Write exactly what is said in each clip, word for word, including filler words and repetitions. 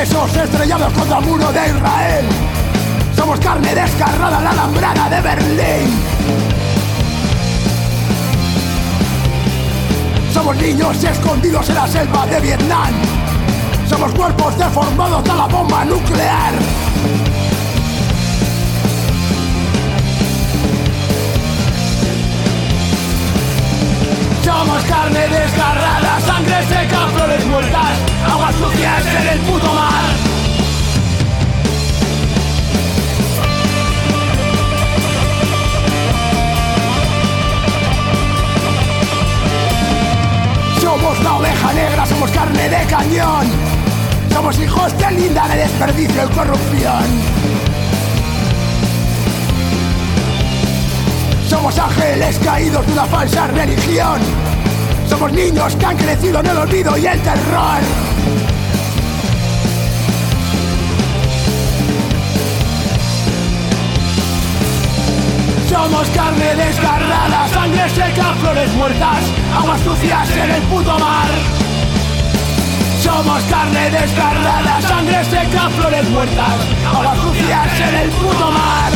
huesos estrellados contra el muro de Israel. Somos carne desgarrada en la alambrada de Berlín. Somos niños escondidos en la selva de Vietnam. Somos cuerpos deformados de la bomba nuclear. Somos carne desgarrada, sangre seca, flores muertas, aguas sucias en el puto mar. Somos la oveja negra, somos carne de cañón. Somos hijos de linda de desperdicio y corrupción. Somos ángeles caídos de una falsa religión. Somos niños que han crecido en el olvido y el terror. Somos carne desgarrada, sangre seca, flores muertas, aguas sucias en el puto mar. Somos carne desgarrada, sangre seca, flores muertas, aguas sucias en el puto mar.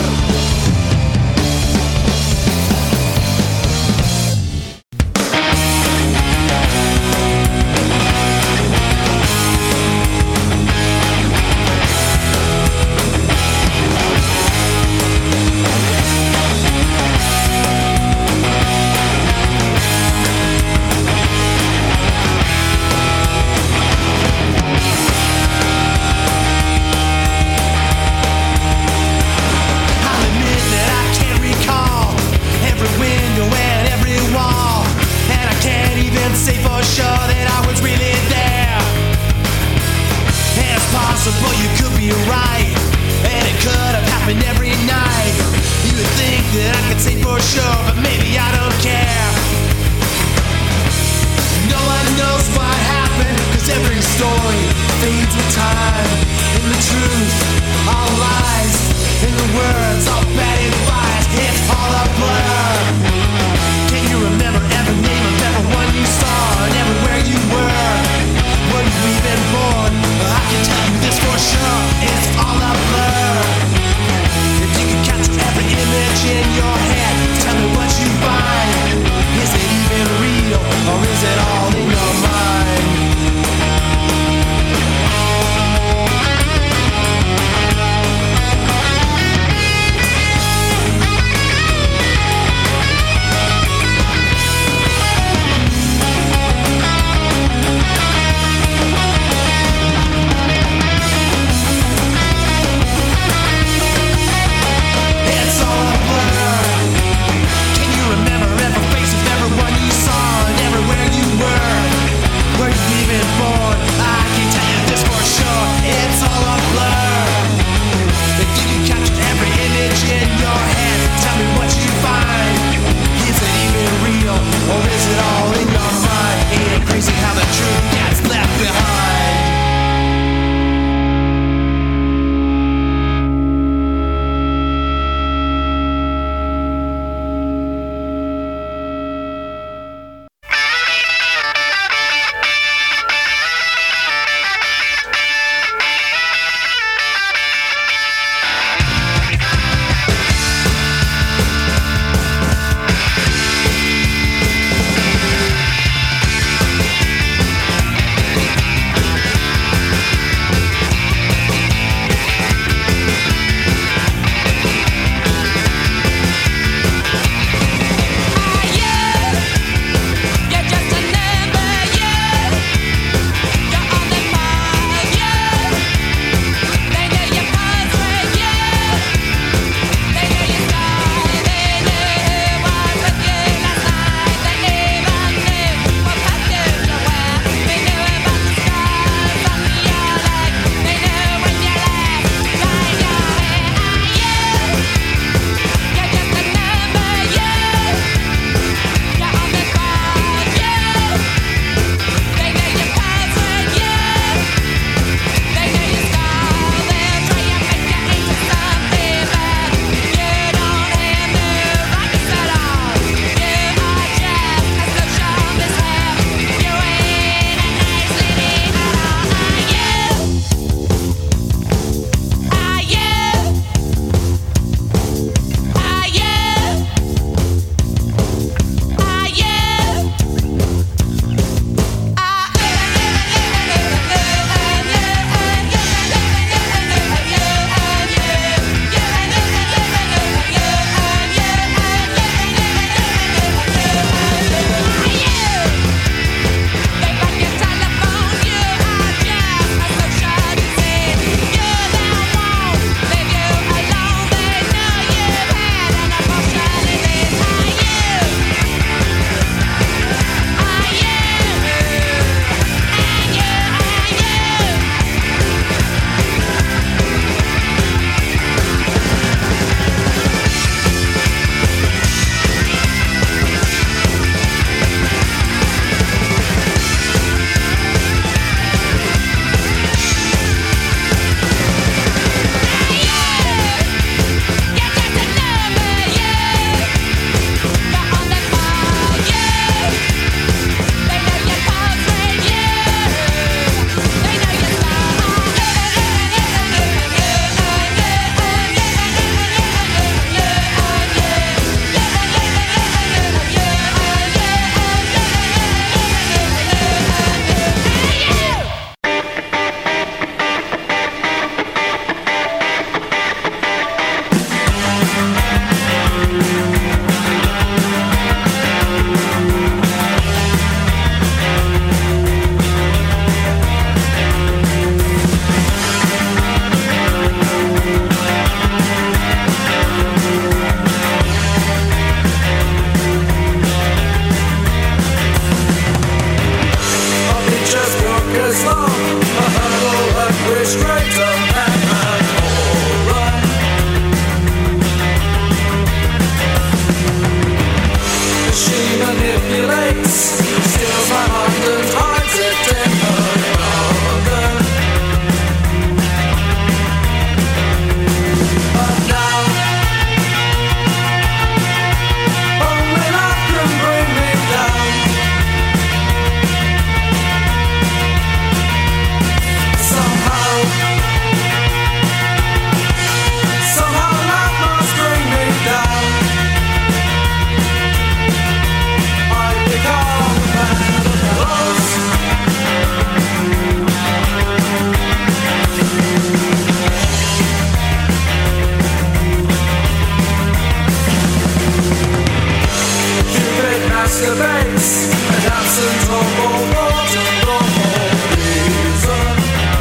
masturbates, and absent of all water, normal reason.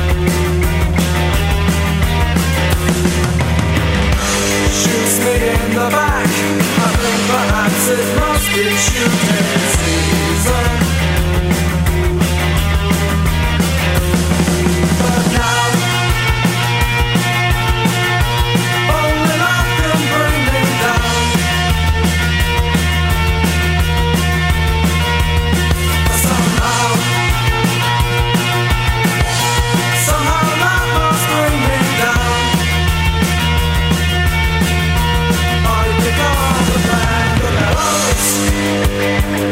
Shoots me in the back, I think perhaps it must be shooting season. But now, only love can bring me down. Somehow, somehow love must bring me down. I pick up the band of arrows.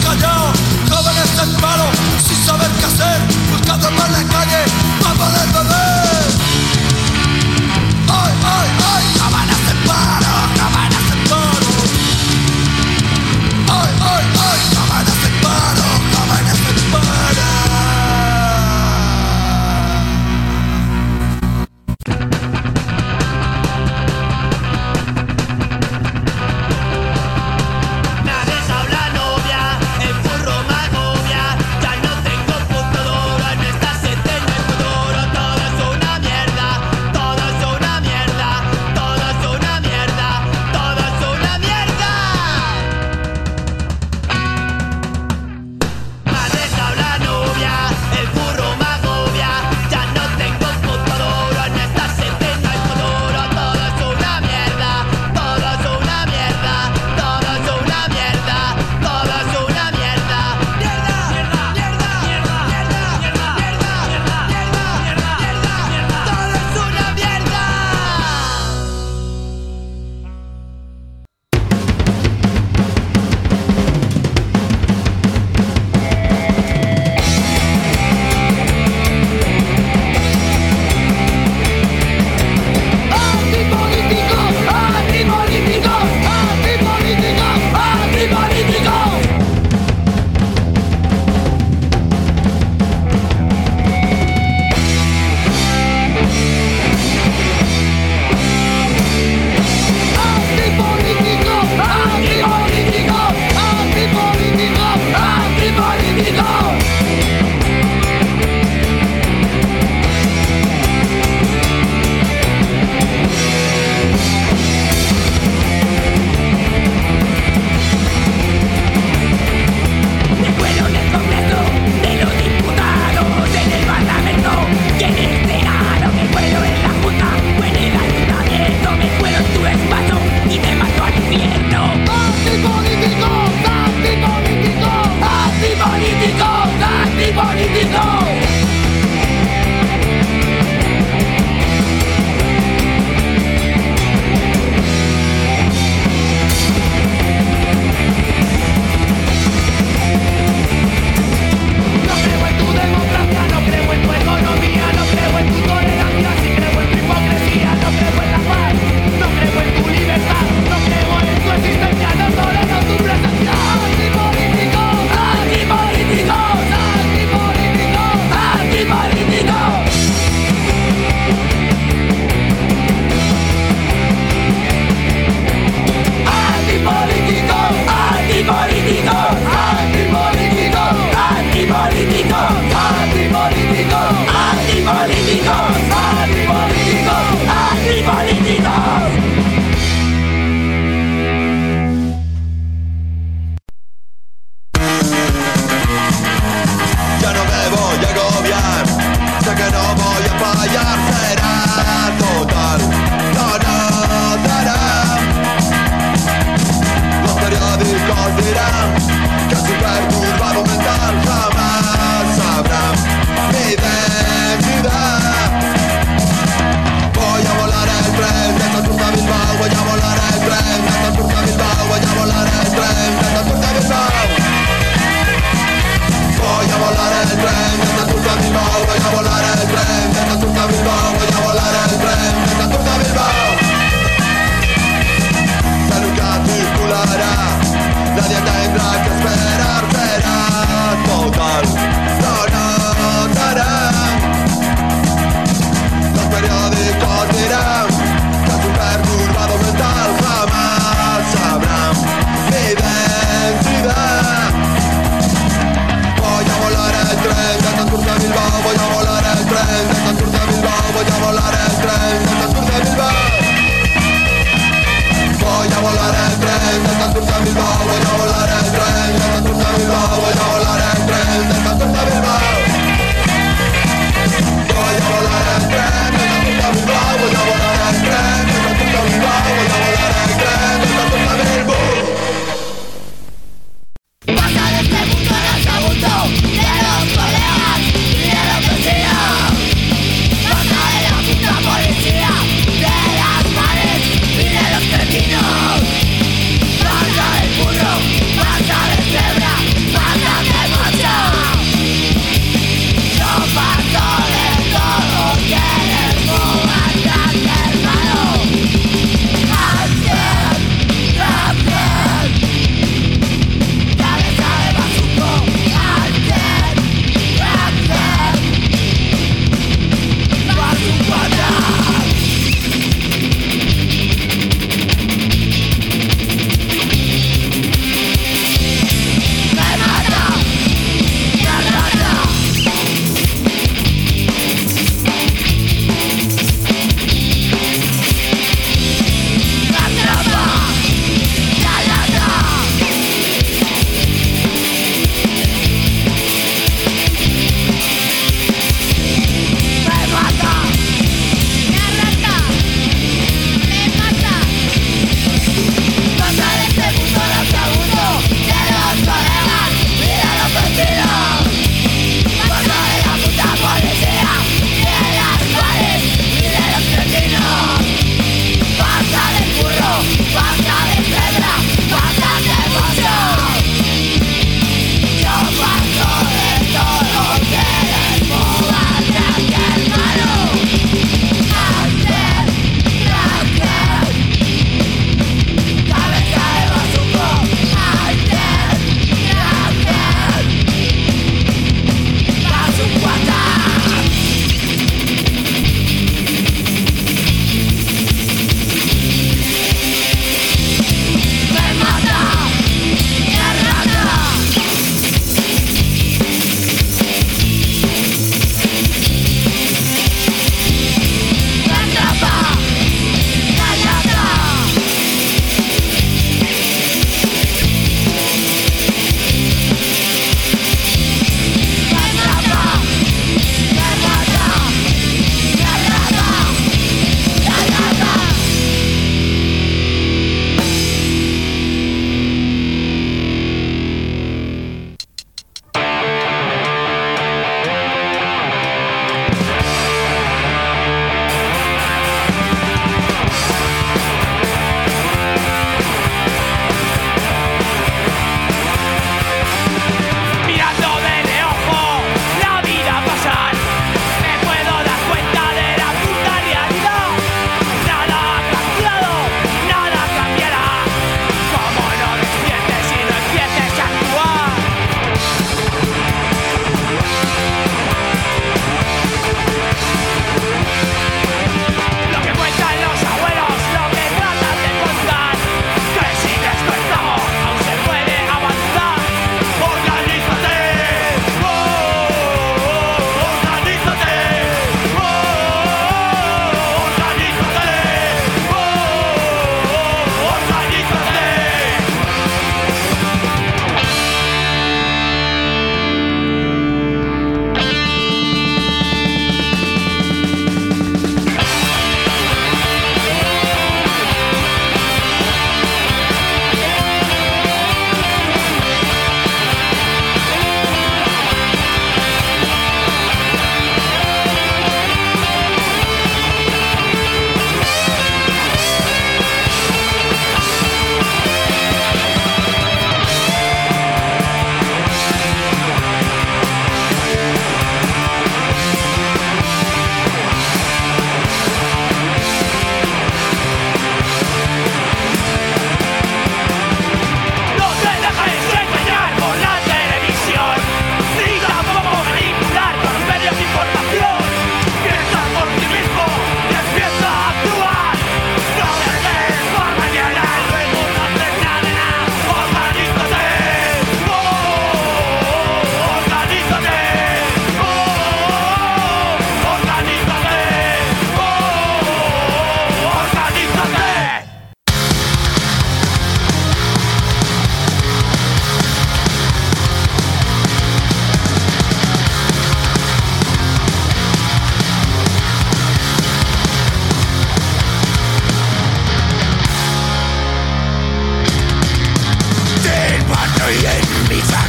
callado, jóvenes en paro, sin saber qué hacer, buscando por la calle para poder beber. Ay, ay, ay, jóvenes en paro, jóvenes en paro. Ay, ay, ay, jóvenes en paro, jóvenes en paro. Tengo punto de oro en esta setenta.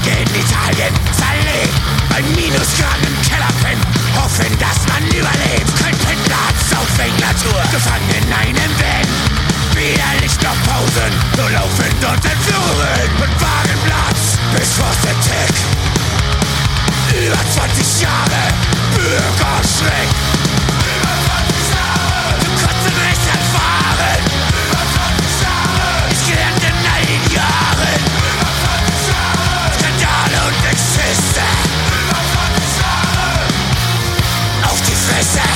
Tage in Italien zerlegt, bei Minusgraden im Keller pennen, hoffen, dass man überlebt. Kein Pendlerarzt auf Englatur, gefangen in einem Van. Weder Licht noch Pausen, nur laufend und in Fluren und Wagenplatz bis Frosted-Tech. Über zwanzig Jahre Bürgerschreck. Über zwanzig Jahre. Du konntest nicht erfahren. Über zwanzig Jahre. Ich gelernt in einigen Jahren. Über zwanzig Jahre. Skandale und Exzesse. Über zwanzig Jahre. Auf die Fresse.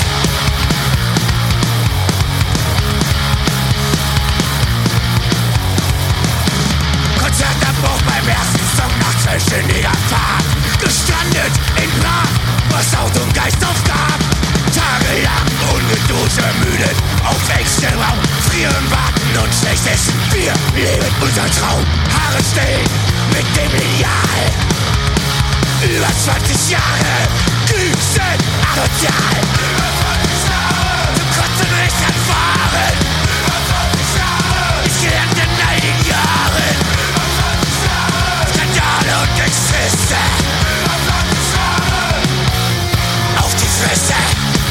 Konzertabbruch beim ersten Song nach zwölfstündiger Fahrt. Gestrandet in Prag, was Auto und Geist aufgab. Tagelang ungeduscht, ermüdet, auf engstem Raum. Frieren, warten und schlecht essen. Wir leben unseren Traum. Haare stehen mit dem Lineal. Über zwanzig Jahre Glühsen asozial. Über zwanzig Jahre. Du konntest nicht erfahren. Über zwanzig Jahre. Ich gelernt in einigen Jahren. Über zwanzig Jahre. Skandale und Exzesse. Über zwanzig Jahre. Auf die Fresse.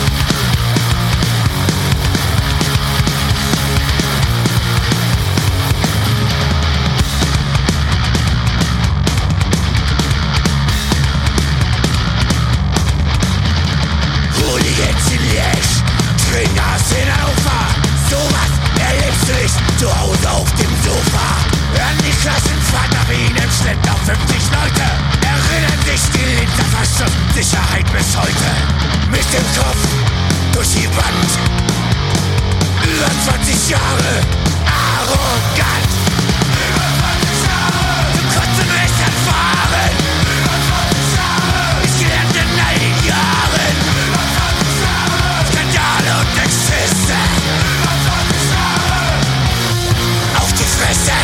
Hooligans in Liège, Stringers in Hannover. Sowas erlebst du nicht zu Hause auf dem Sofa. Hören die Klassenfahrt nach ihnen schleppt auf fünfzig Leute. Erinnern sich die Linzer Verschrift Sicherheit bis heute. Mit dem Kopf durch die Wand. Über zwanzig Jahre arrogant. Über zwanzig Jahre. Du konntest nicht erfahren. Über zwanzig Jahre. Ich gelernt in einigen Jahren. Über zwanzig Jahre. Skandale und Exzesse. Über zwanzig Jahre. Auf die Fresse.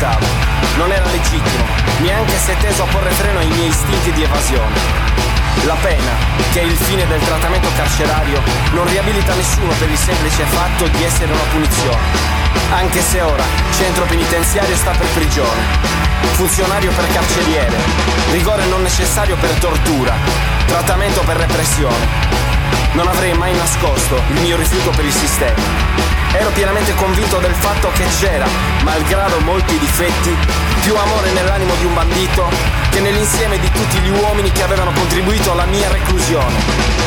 aspettavo. Non era legittimo, neanche se teso a porre freno ai miei istinti di evasione. La pena, che è il fine del trattamento carcerario, non riabilita nessuno per il semplice fatto di essere una punizione, anche se ora centro penitenziario sta per prigione, funzionario per carceriere, rigore non necessario per tortura, trattamento per repressione. Non avrei mai nascosto il mio rifiuto per il sistema. Ero pienamente convinto del fatto che c'era, malgrado molti difetti, più amore nell'animo di un bandito che nell'insieme di tutti gli uomini che avevano contribuito alla mia reclusione.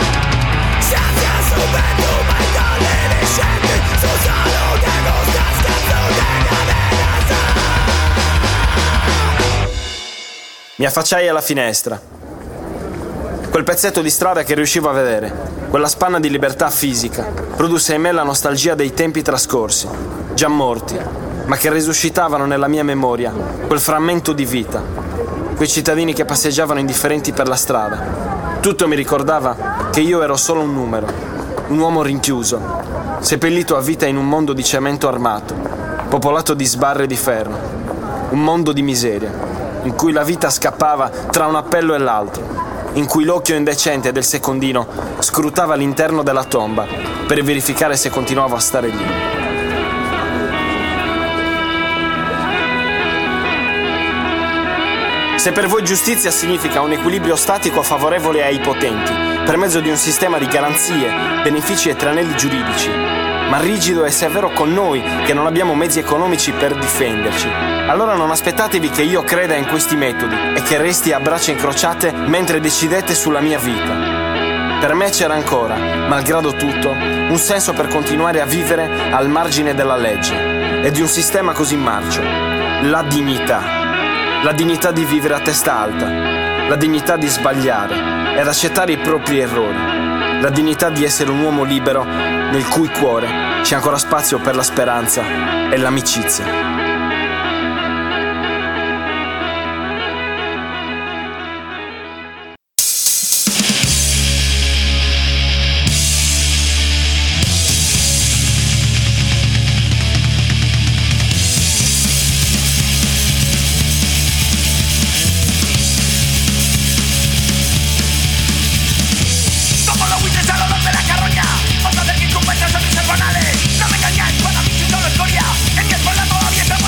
Mi affacciai alla finestra. Quel pezzetto di strada che riuscivo a vedere, quella spanna di libertà fisica, produsse in me la nostalgia dei tempi trascorsi, già morti, ma che risuscitavano nella mia memoria quel frammento di vita, quei cittadini che passeggiavano indifferenti per la strada. Tutto mi ricordava che io ero solo un numero, un uomo rinchiuso, seppellito a vita in un mondo di cemento armato, popolato di sbarre di ferro, un mondo di miseria, in cui la vita scappava tra un appello e l'altro, in cui l'occhio indecente del secondino scrutava l'interno della tomba per verificare se continuavo a stare lì. Se per voi giustizia significa un equilibrio statico favorevole ai potenti, per mezzo di un sistema di garanzie, benefici e tranelli giuridici, ma rigido e severo con noi che non abbiamo mezzi economici per difenderci, allora non aspettatevi che io creda in questi metodi e che resti a braccia incrociate mentre decidete sulla mia vita. Per me c'era ancora, malgrado tutto, un senso per continuare a vivere al margine della legge e di un sistema così marcio: la dignità. La dignità di vivere a testa alta, la dignità di sbagliare ed accettare i propri errori, la dignità di essere un uomo libero nel cui cuore c'è ancora spazio per la speranza e l'amicizia. No me engañáis cuando habéis hecho la historia. En mi espalda todavía estamos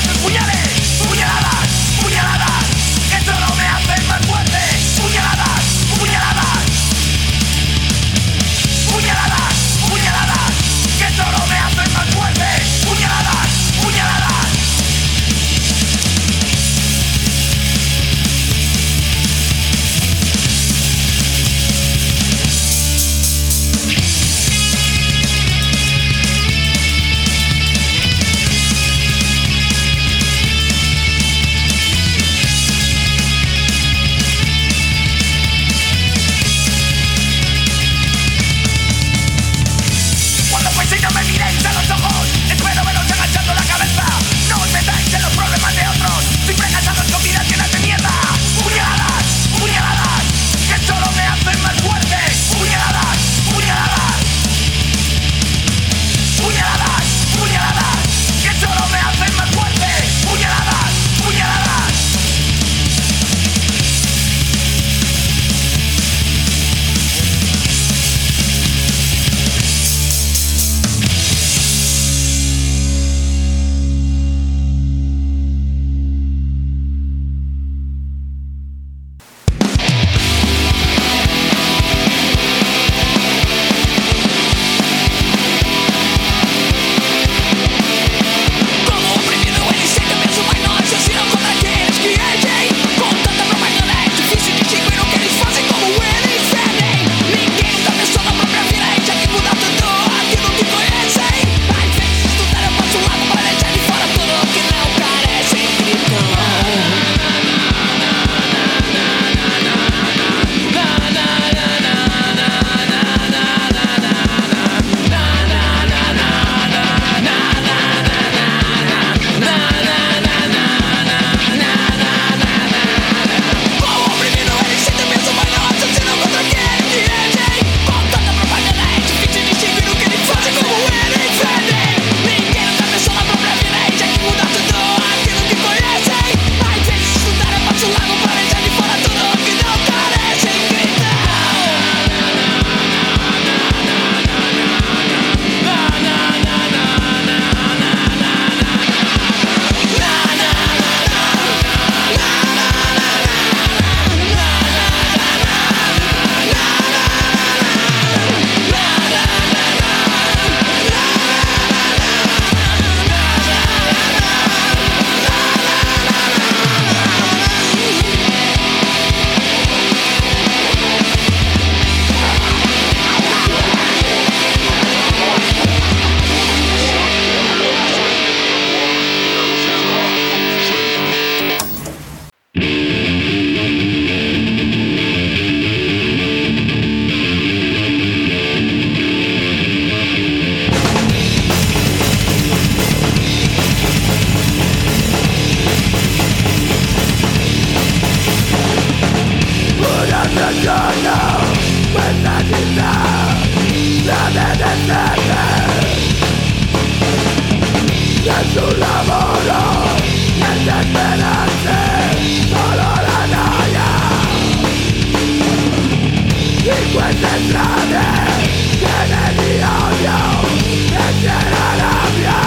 queste strade piene di odio e piena rabbia.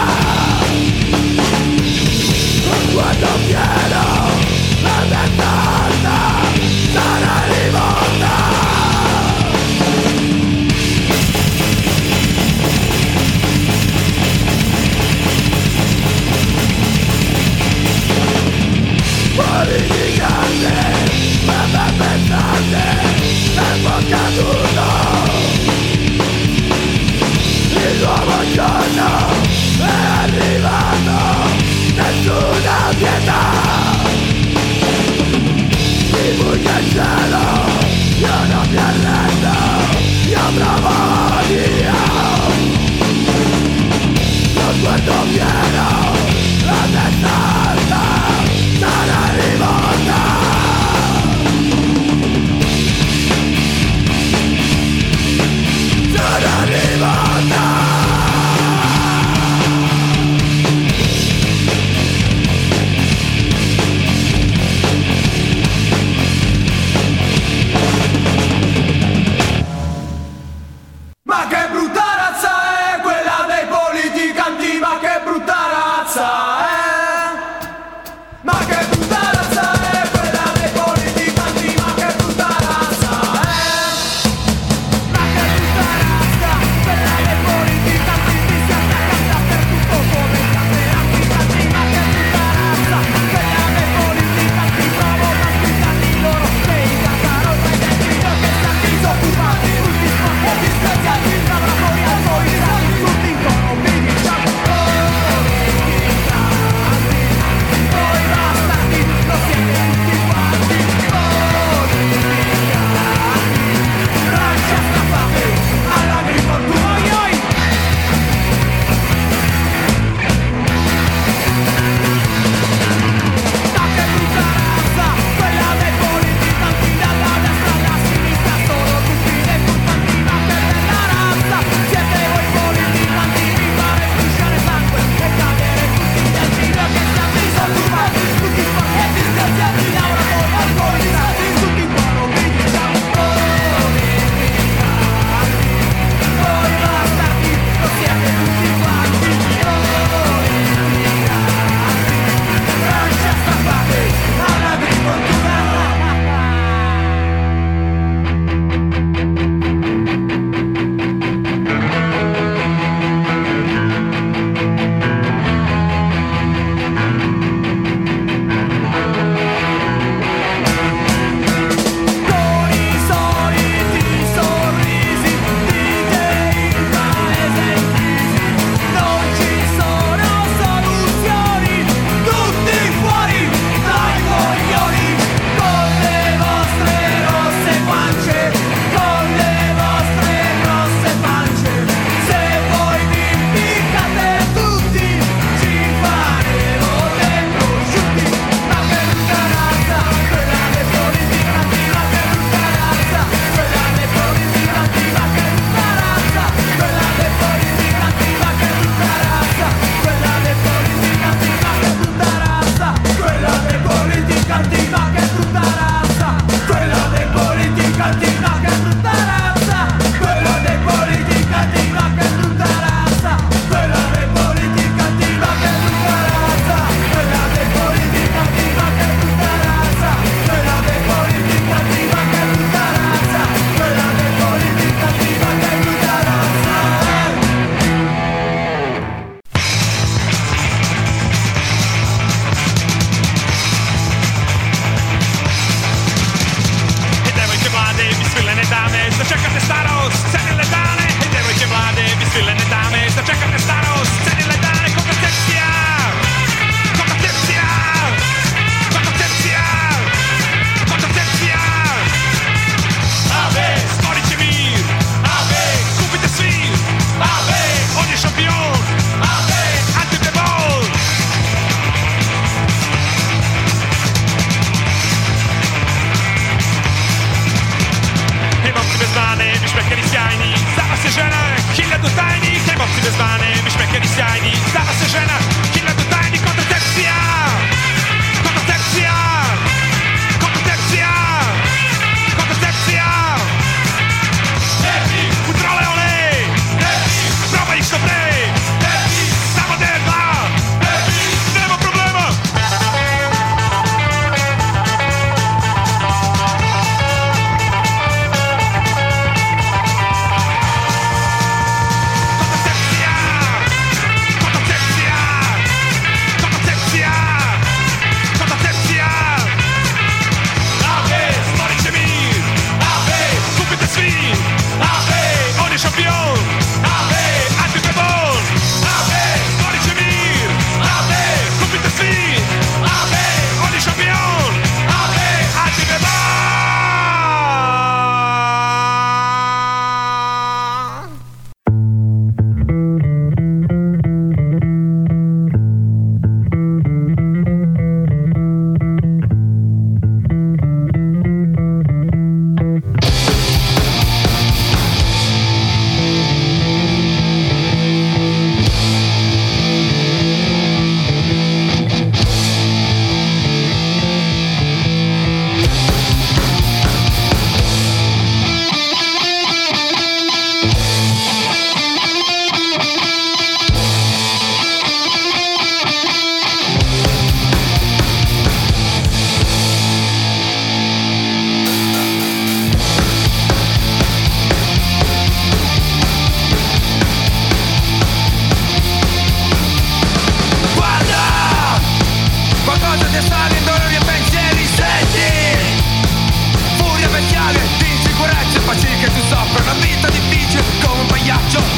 Quando chiedo la mia carta sarà rivolta. Politicante, mamma pensante, tempo caduto. Il nuovo giorno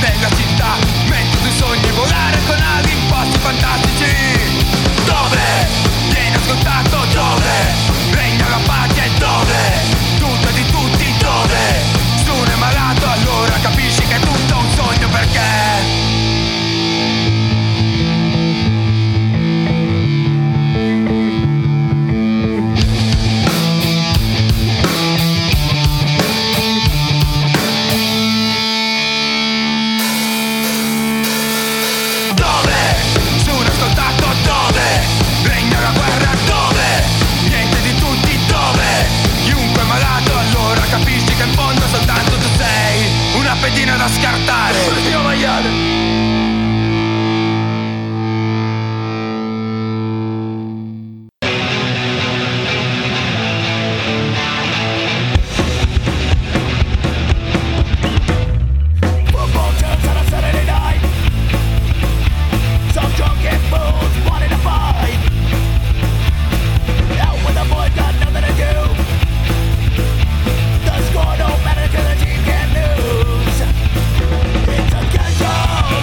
della città, mentre tu sogni volare con ali in posti fantastici. Dove viene ascoltato, dove regna la pace, dove tutto è di tutti, dove se uno è malato allora capisci che è tutto un sogno, perché capisci che in fondo soltanto tu sei una pedina da scartare. Io maiale. Score don't matter 'cause the team can't lose. It's a casual.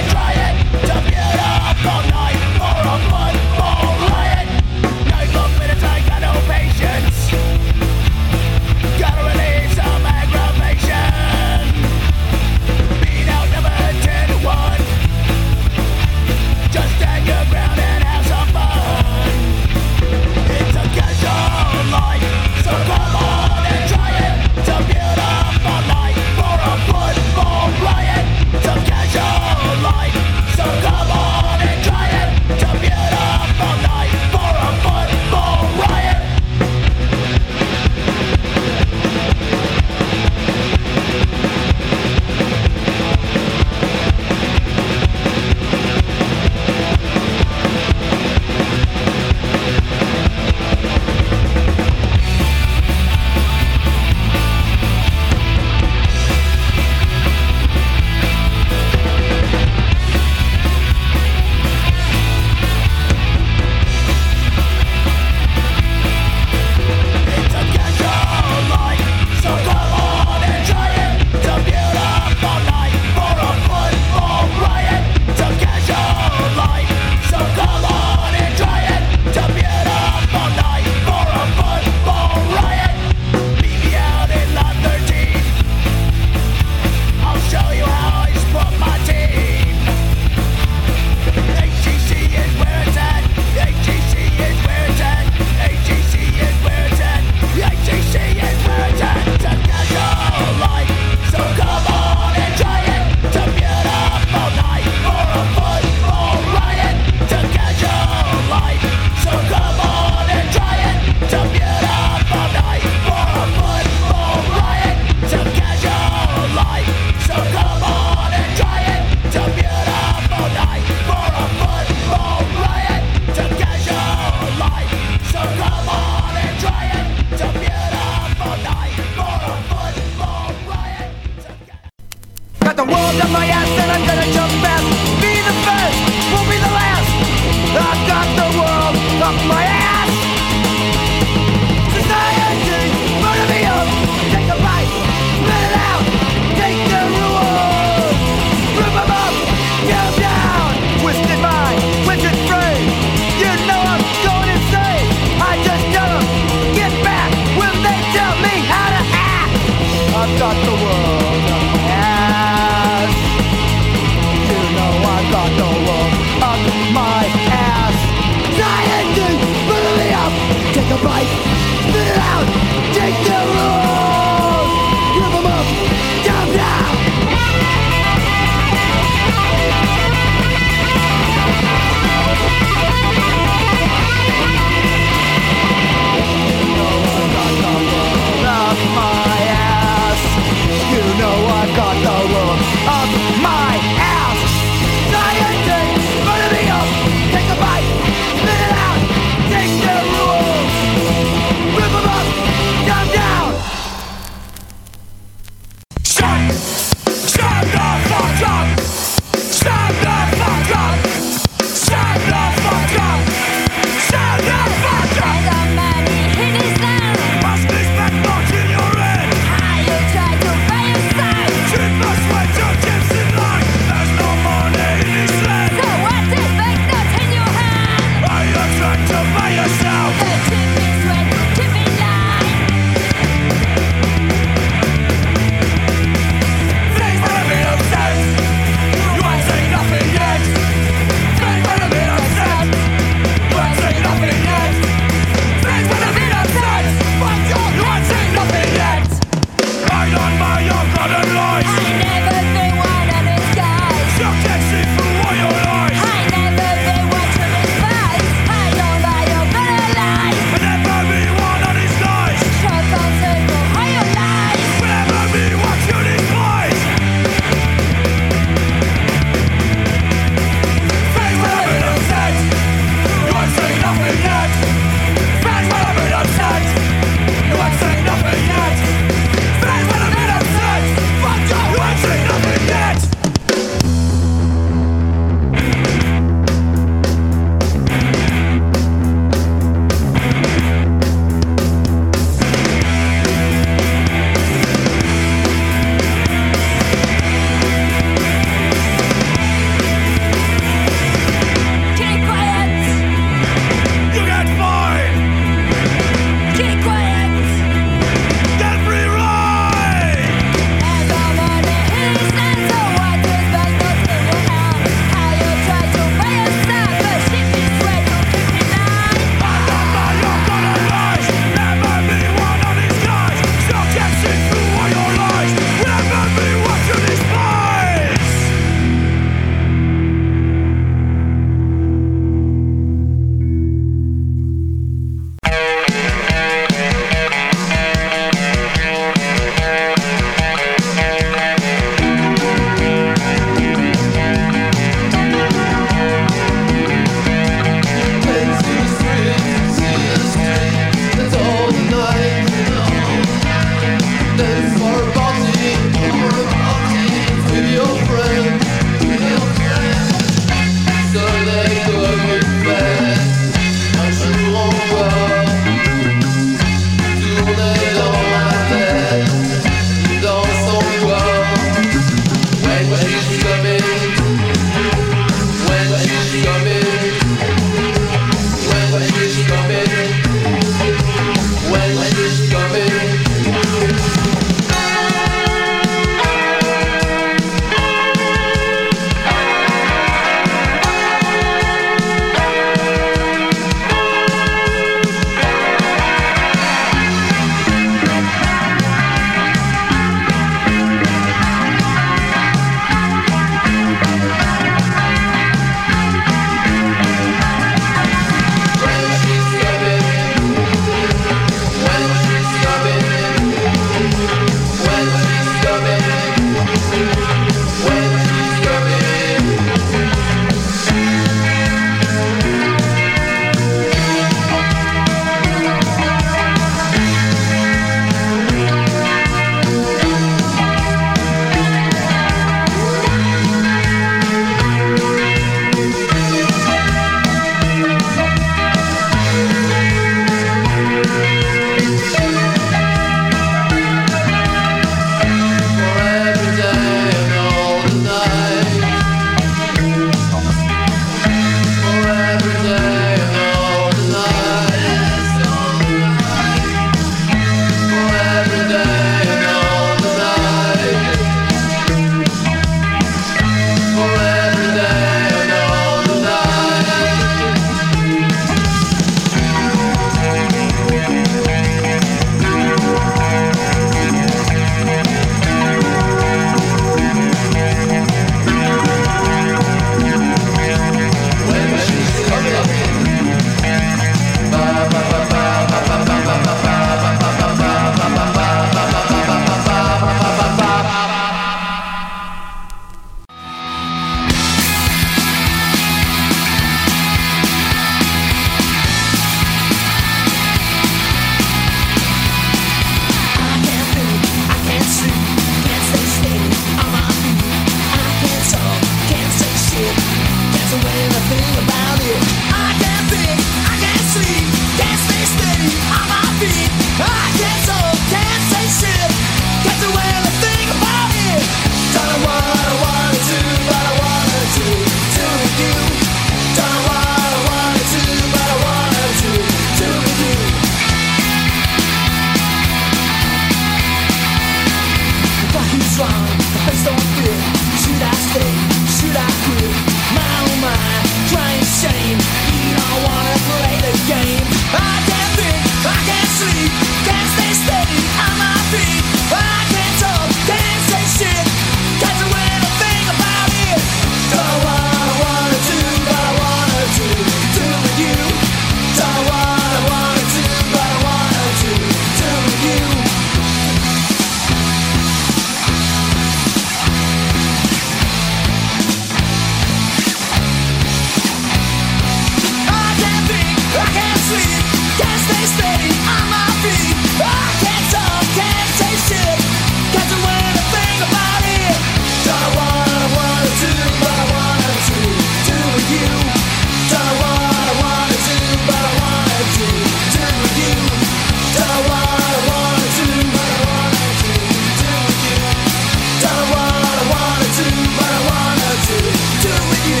sweet. Can't stay steady on my feet. I can't talk, can't say shit. Can't do anything about it. Don't know what I wanna do, but I wanna do, do with you. Don't know what I wanna do, but I wanna do, do with you. Don't know what I wanna do, but I wanna do, do with you. Don't know what I wanna do, but I wanna do, do with you.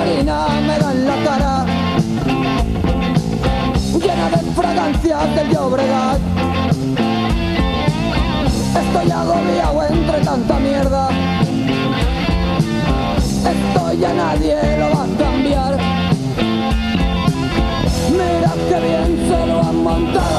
harina me da en la cara, llena de fragancias del Llobregat. Estoy agobiado entre tanta mierda, esto ya nadie lo va a cambiar. Mira que bien se lo han montado